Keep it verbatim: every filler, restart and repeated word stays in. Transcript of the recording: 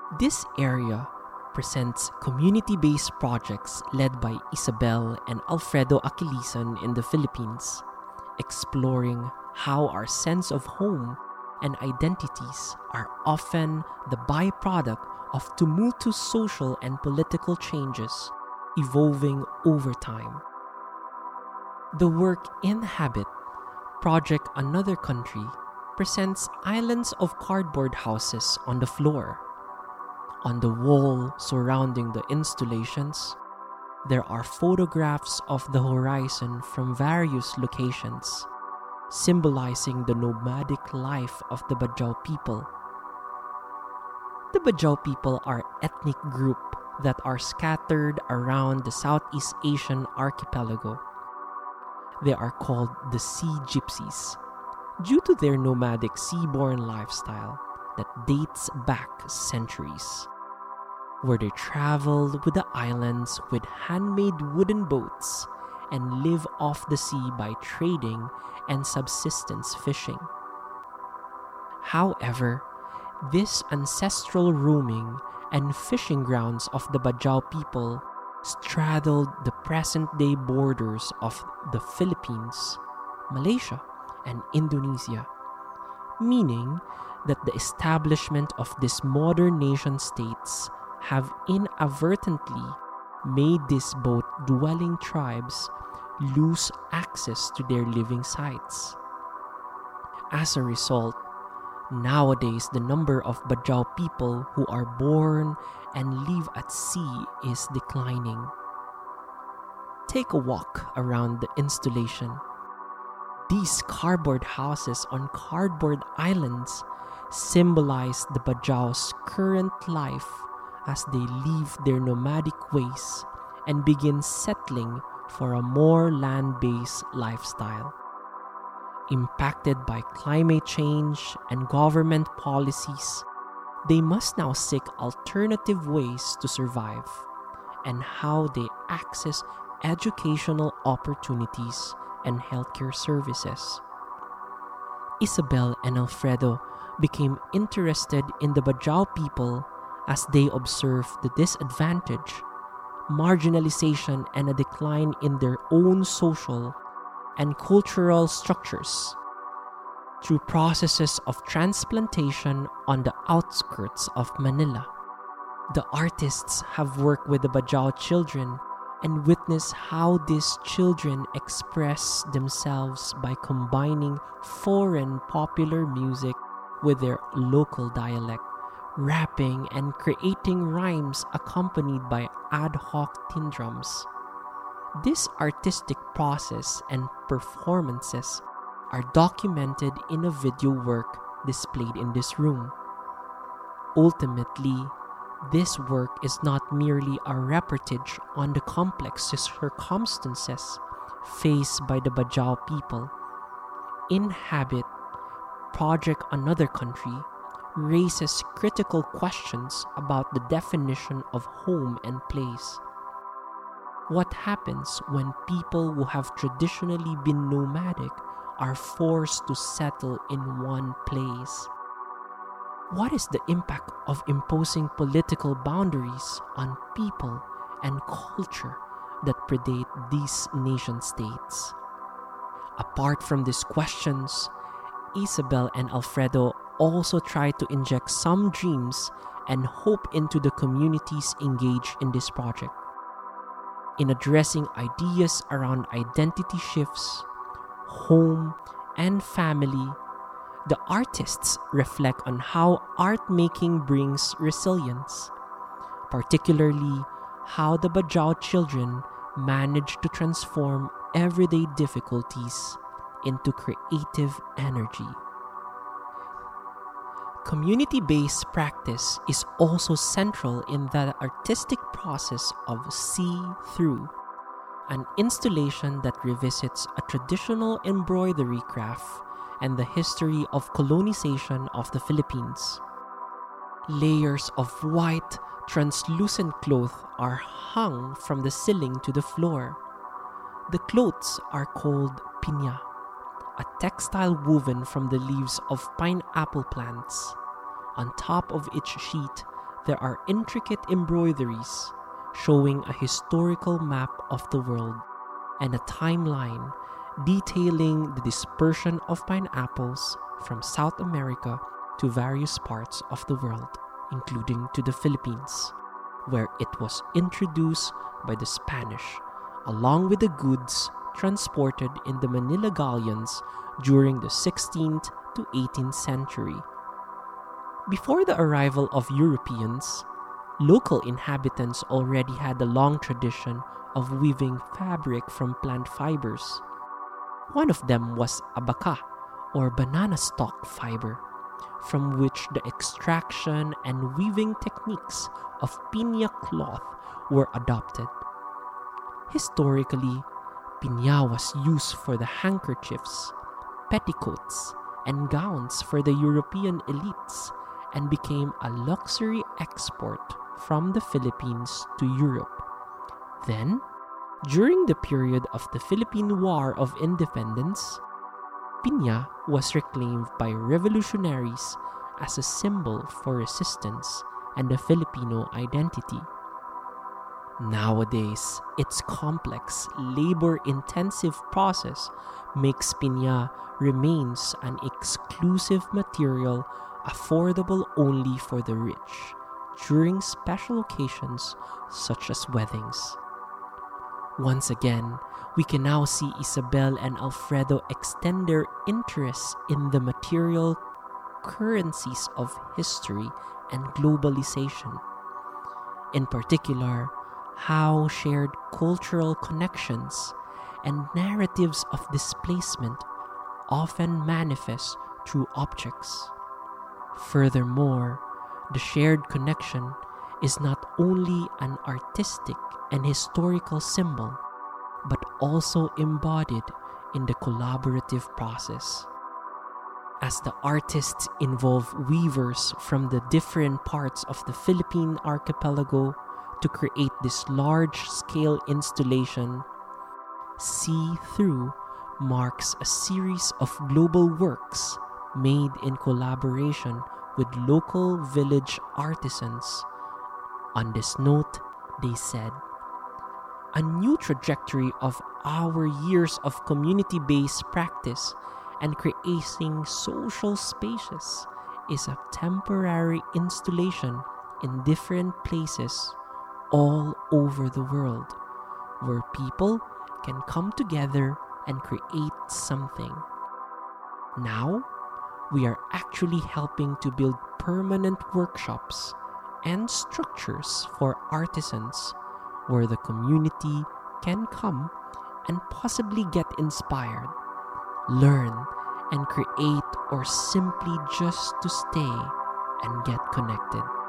This area presents community-based projects led by Isabel and Alfredo Aquilisan in the Philippines, exploring how our sense of home and identities are often the byproduct of tumultuous social and political changes evolving over time. The work Inhabit, Project Another Country, presents islands of cardboard houses on the floor. On the wall surrounding the installations, there are photographs of the horizon from various locations, symbolizing the nomadic life of the Bajau people. The Bajau people are an ethnic group that are scattered around the Southeast Asian archipelago. They are called the Sea Gypsies due to their nomadic seaborne lifestyle that dates back centuries, where they travel with the islands with handmade wooden boats and live off the sea by trading and subsistence fishing. However, this ancestral roaming and fishing grounds of the Bajau people straddled the present-day borders of the Philippines, Malaysia, and Indonesia, meaning that the establishment of these modern nation-states have inadvertently made these boat-dwelling tribes lose access to their living sites. As a result, nowadays the number of Bajau people who are born and live at sea is declining. Take a walk around the installation. These cardboard houses on cardboard islands symbolize the Bajau's current life as they leave their nomadic ways and begin settling for a more land-based lifestyle. Impacted by climate change and government policies, they must now seek alternative ways to survive and how they access educational opportunities and healthcare services. Isabel and Alfredo became interested in the Bajau people as they observed the disadvantage, marginalization, and a decline in their own social and cultural structures. Through processes of transplantation on the outskirts of Manila, the artists have worked with the Bajau children and witnessed how these children express themselves by combining foreign popular music with their local dialect, rapping and creating rhymes accompanied by ad hoc tin drums. This artistic process and performances are documented in a video work displayed in this room. Ultimately, this work is not merely a reportage on the complex circumstances faced by the Bajau people. Inhabit, Project Another Country, raises critical questions about the definition of home and place. What happens when people who have traditionally been nomadic are forced to settle in one place? What is the impact of imposing political boundaries on people and culture that predate these nation-states? Apart from these questions, Isabel and Alfredo also try to inject some dreams and hope into the communities engaged in this project. In addressing ideas around identity shifts, home, and family, the artists reflect on how art making brings resilience, particularly how the Bajau children manage to transform everyday difficulties into creative energy. Community-based practice is also central in the artistic process of See Through, an installation that revisits a traditional embroidery craft and the history of colonization of the Philippines. Layers of white, translucent cloth are hung from the ceiling to the floor. The clothes are called piña, a textile woven from the leaves of pineapple plants. On top of each sheet, there are intricate embroideries showing a historical map of the world and a timeline detailing the dispersion of pineapples from South America to various parts of the world, including to the Philippines, where it was introduced by the Spanish, along with the goods transported in the Manila galleons during the sixteenth to eighteenth century. Before the arrival of Europeans, local inhabitants already had a long tradition of weaving fabric from plant fibers. One of them was abaca, or banana stalk fiber, from which the extraction and weaving techniques of piña cloth were adopted. Historically, piña was used for the handkerchiefs, petticoats, and gowns for the European elites and became a luxury export from the Philippines to Europe. Then, during the period of the Philippine War of Independence, piña was reclaimed by revolutionaries as a symbol for resistance and the Filipino identity. Nowadays, its complex, labor-intensive process makes piña remains an exclusive material affordable only for the rich during special occasions such as weddings. Once again, we can now see Isabel and Alfredo extend their interests in the material currencies of history and globalization. In particular, how shared cultural connections and narratives of displacement often manifest through objects. Furthermore, the shared connection is not only an artistic and historical symbol, but also embodied in the collaborative process. As the artists involve weavers from the different parts of the Philippine archipelago to create this large-scale installation, See Through marks a series of global works made in collaboration with local village artisans. On this note, they said, "A new trajectory of our years of community-based practice and creating social spaces is a temporary installation in different places all over the world, where people can come together and create something. Now, we are actually helping to build permanent workshops and structures for artisans where the community can come and possibly get inspired, learn, and create, or simply just to stay and get connected."